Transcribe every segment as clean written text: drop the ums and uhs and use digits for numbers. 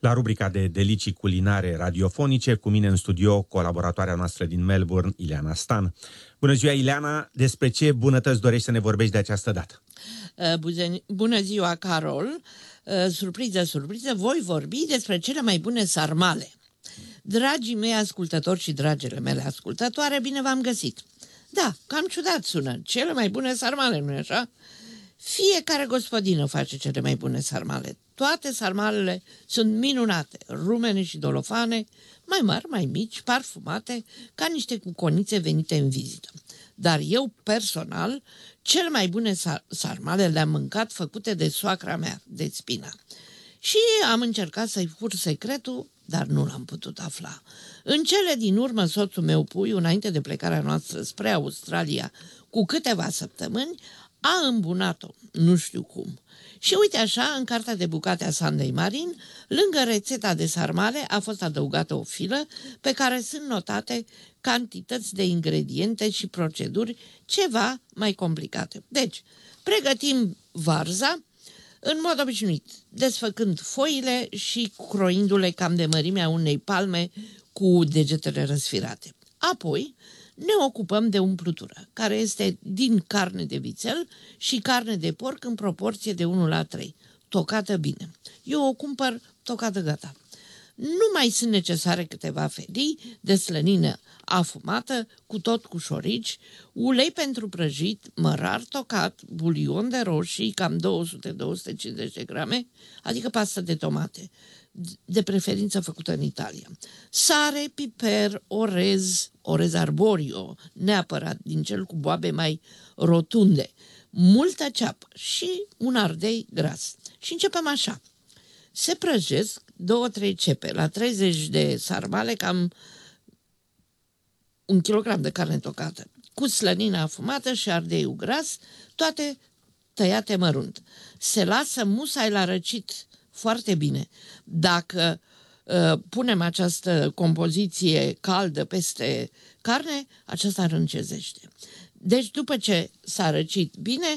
La rubrica de delicii culinare radiofonice, cu mine în studio, colaboratoarea noastră din Melbourne, Ileana Stan. Bună ziua, Ileana! Despre ce bunătăți dorești să ne vorbești de această dată? Bună ziua, Carol! Surpriză, surpriză, voi vorbi despre cele mai bune sarmale. Dragii mei ascultători și dragele mele ascultătoare, bine v-am găsit! Da, cam ciudat sună, cele mai bune sarmale, nu-i așa? Fiecare gospodină face cele mai bune sarmale. Toate sarmalele sunt minunate, rumene și dolofane, mai mari, mai mici, parfumate, ca niște cuconițe venite în vizită. Dar eu, personal, cele mai bune sarmale le-am mâncat făcute de soacra mea, de Spina. Și am încercat să-i fur secretul, dar nu l-am putut afla. În cele din urmă, soțul meu, Puiu, înainte de plecarea noastră spre Australia, cu câteva săptămâni, a îmbunat-o, nu știu cum. Și uite așa, în cartea de bucate a Sandei Marin, lângă rețeta de sarmale a fost adăugată o filă pe care sunt notate cantități de ingrediente și proceduri ceva mai complicate. Deci, pregătim varza în mod obișnuit, desfăcând foile și croindu-le cam de mărimea unei palme cu degetele răsfirate. Apoi, ne ocupăm de umplutură, care este din carne de vițel și carne de porc în proporție de 1:3, tocată bine. Eu o cumpăr tocată gata. Nu mai sunt necesare câteva felii de slănină afumată, cu șorici, ulei pentru prăjit, mărar tocat, bulion de roșii, cam 200-250 de grame, adică pastă de tomate, de preferință făcută în Italia. Sare, piper, orez arborio, neapărat din cel cu boabe mai rotunde, multă ceapă și un ardei gras. Și începem așa. Se prăjesc 2-3 cepe la 30 de sarmale, cam 1 kilogram de carne tocată, cu slănină afumată și ardeiul gras, toate tăiate mărunt. Se lasă musai la răcit foarte bine. Dacă punem această compoziție caldă peste carne, aceasta râncezește. Deci după ce s-a răcit bine,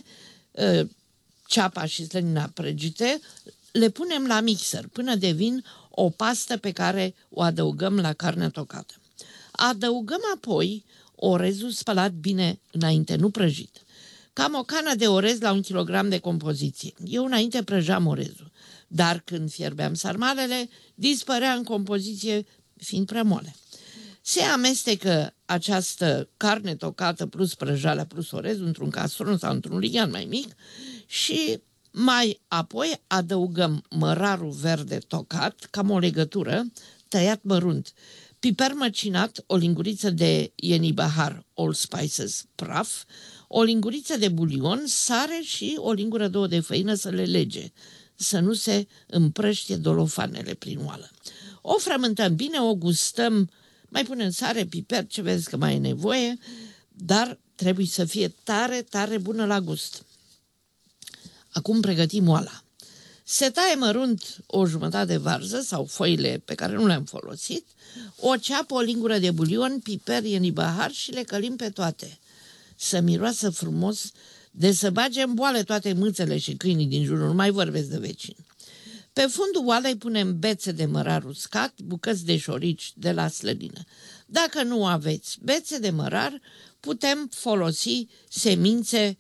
ceapa și slănina prăjite, le punem la mixer până devin o pastă pe care o adăugăm la carnea tocată. Adăugăm apoi orezul spălat bine înainte, nu prăjit. Cam o cană de orez la 1 kilogram de compoziție. Eu înainte prăjam orezul, dar când fierbeam sarmalele, dispărea în compoziție fiind prea moale. Se amestecă această carne tocată plus prăjală plus orez într-un castron sau într-un lighean mai mic și mai apoi adăugăm mărarul verde tocat, cam o legătură, tăiat mărunt, piper măcinat, o linguriță de ienibahar, all spices, praf, o linguriță de bulion, sare și o lingură 2 de făină să le lege, să nu se împrăștie dolofanele prin oală. O frământăm bine, o gustăm, mai punem sare, piper, ce vezi că mai e nevoie, dar trebuie să fie tare, tare bună la gust. Acum pregătim oala. Se taie mărunt o jumătate de varză sau foile pe care nu le-am folosit, o ceapă, o lingură de bulion, piper, ienibahar și le călim pe toate. Să miroasă frumos, de să bage în boale toate mâțele și câinii din jur, nu mai vorbesc de vecini. Pe fundul oalei punem bețe de mărar uscat, bucăți de șorici de la slănină. Dacă nu aveți bețe de mărar, putem folosi semințe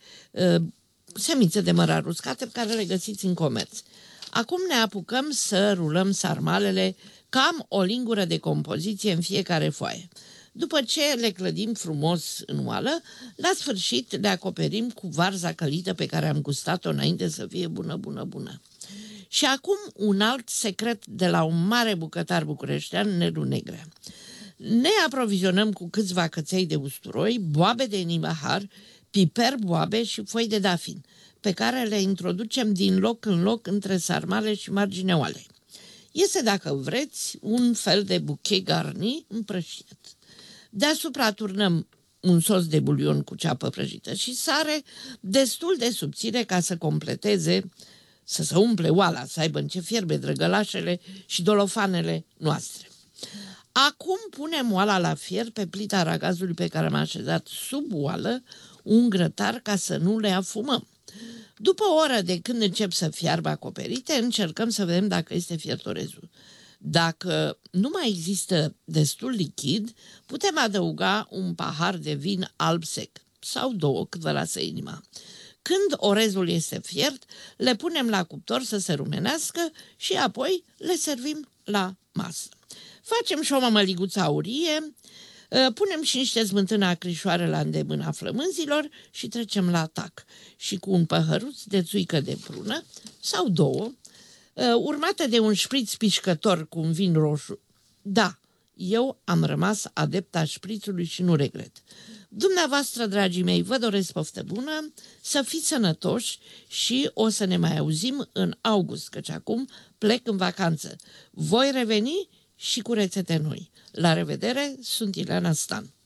de mărar uscate pe care le găsiți în comerț. Acum ne apucăm să rulăm sarmalele cam o lingură de compoziție în fiecare foaie. După ce le clădim frumos în oală, la sfârșit le acoperim cu varza călită pe care am gustat-o înainte să fie bună, bună, bună. Și acum un alt secret de la un mare bucătar bucureștean, Nelu Negrea. Ne aprovizionăm cu câțiva căței de usturoi, boabe de ienibahar, piper, boabe și foi de dafin, pe care le introducem din loc în loc între sarmale și marginea oalei. Este, dacă vreți, un fel de buchet garni împrăștiat. Deasupra turnăm un sos de bulion cu ceapă prăjită și sare destul de subțire ca să completeze, să se umple oala, să aibă în ce fierbe drăgălașele și dolofanele noastre. Acum punem oala la fier pe plita ragazului pe care am așezat sub oală un grătar ca să nu le afumăm. După o oră de când încep să fiarbă acoperite, încercăm să vedem dacă este fiert orezul. Dacă nu mai există destul lichid, putem adăuga un pahar de vin alb sec sau 2, cât vă lasă inima. Când orezul este fiert, le punem la cuptor să se rumenească și apoi le servim la masă. Facem și o mămăliguță aurie, punem și niște smântână acrișoară la îndemâna flămânzilor și trecem la atac. Și cu un păhăruț de țuică de prună sau 2, urmată de un șpriț pișcător cu un vin roșu. Da, eu am rămas adepta șprițului și nu regret. Dumneavoastră, dragii mei, vă doresc poftă bună, să fiți sănătoși și o să ne mai auzim în august, căci acum plec în vacanță. Voi reveni și cu rețete noi. La revedere, sunt Ileana Stan.